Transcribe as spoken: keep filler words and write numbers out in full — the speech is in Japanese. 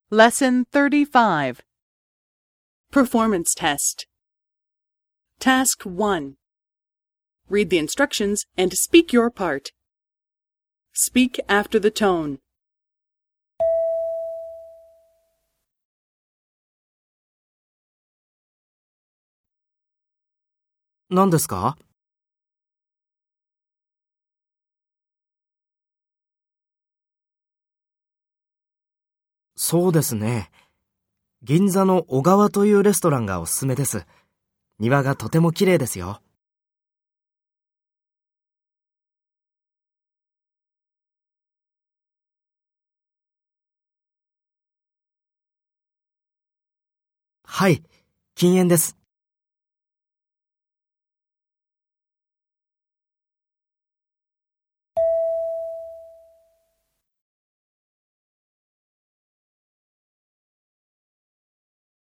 Lesson thirty-five. Performance Test. Task one. Read the instructions and speak your part. Speak after the tone. 何ですか？そうですね。銀座の小川というレストランがおすすめです。庭がとても綺麗ですよ。はい、禁煙です。